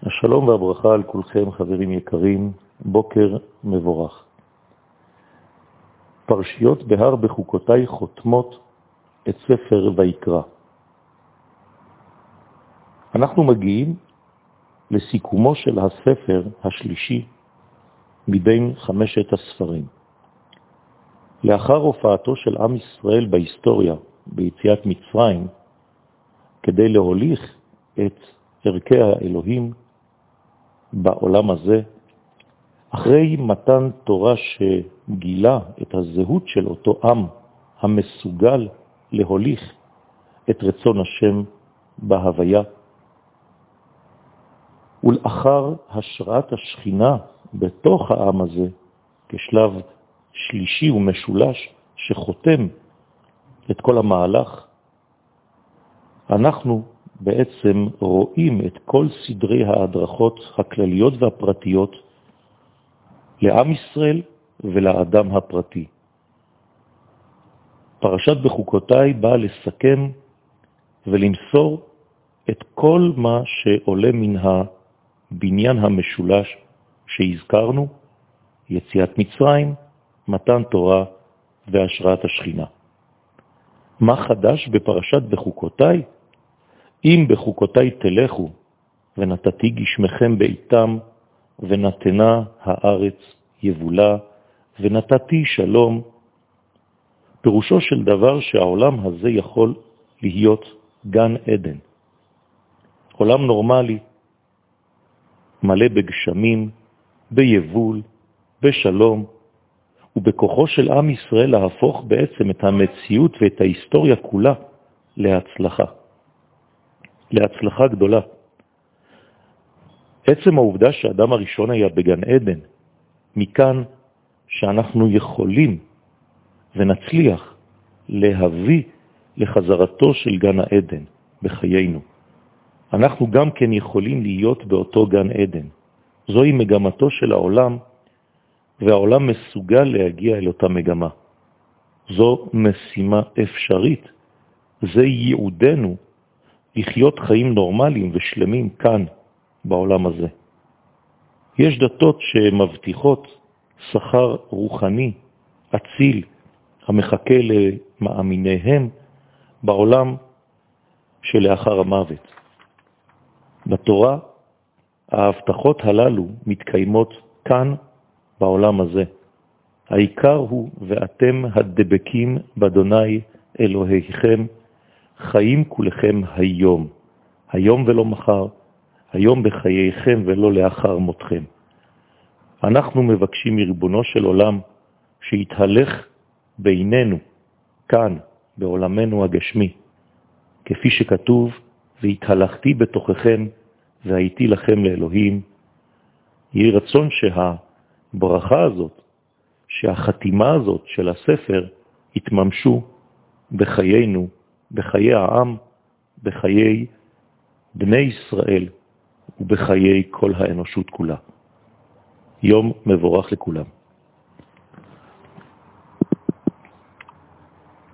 השלום והברכה על כולכם חברים יקרים, בוקר מבורך. פרשיות בהר בחוקותיי חותמות את ספר ויקרא. אנחנו מגיעים לסיכומו של הספר השלישי מבין 5 הספרים. לאחר הופעתו של עם ישראל בהיסטוריה, ביציאת מצרים, כדי להוליך את ערכי האלוהים בעולם הזה, אחרי מתן תורה שגילה את הזהות של אותו עם המסוגל להוליך את רצון השם בהוויה, ולאחר השראת השכינה בתוך העם הזה, כשלב שלישי ומשולש שחותם את כל המהלך, אנחנו בעצם רואים את כל סדרי ההדרכות הכלליות והפרטיות לעם ישראל ולאדם הפרטי. פרשת בחוקותיי באה לסכם ולמסור את כל מה שעולה מן הבניין המשולש שהזכרנו, יציאת מצרים, מתן תורה והשראת השכינה. מה חדש בפרשת בחוקותיי? אם בחוקותיי תלכו, ונתתי גשמכם בעיתם, ונתנה הארץ יבולה, ונתתי שלום, פירושו של דבר שהעולם הזה יכול להיות גן עדן. עולם נורמלי, מלא בגשמים, ביבול, בשלום, ובכוחו של עם ישראל להפוך בעצם את המציאות ואת ההיסטוריה כולה להצלחה. להצלחה גדולה. עצם העובדה שהאדם הראשון היה בגן עדן, מכאן שאנחנו יכולים ונצליח להביא לחזרתו של גן העדן בחיינו. אנחנו גם כן יכולים להיות באותו גן עדן. זוהי מגמתו של העולם, והעולם מסוגל להגיע אל אותה מגמה. זו משימה אפשרית. זה ייעודנו לחיות חיים נורמליים ושלמים כאן בעולם הזה. יש דתות שמבטיחות שכר רוחני, אציל, המחכה למאמיניהם בעולם שלאחר המוות. בתורה ההבטחות הללו מתקיימות כאן בעולם הזה. העיקר הוא ואתם הדבקים באדוני אלוהיכם, חיים כולכם היום, היום ולא מחר, היום בחייכם ולא לאחר מותכם. אנחנו מבקשים מריבונו של עולם שיתהלך בינינו, כאן, בעולמנו הגשמי, כפי שכתוב, והתהלכתי בתוככם והייתי לכם לאלוהים. יהי רצון שהברכה הזאת, שהחתימה הזאת של הספר, יתממשו בחיינו, בחיי העם, בחיי בני ישראל ובחיי כל האנושות כולה. יום מבורך לכולם.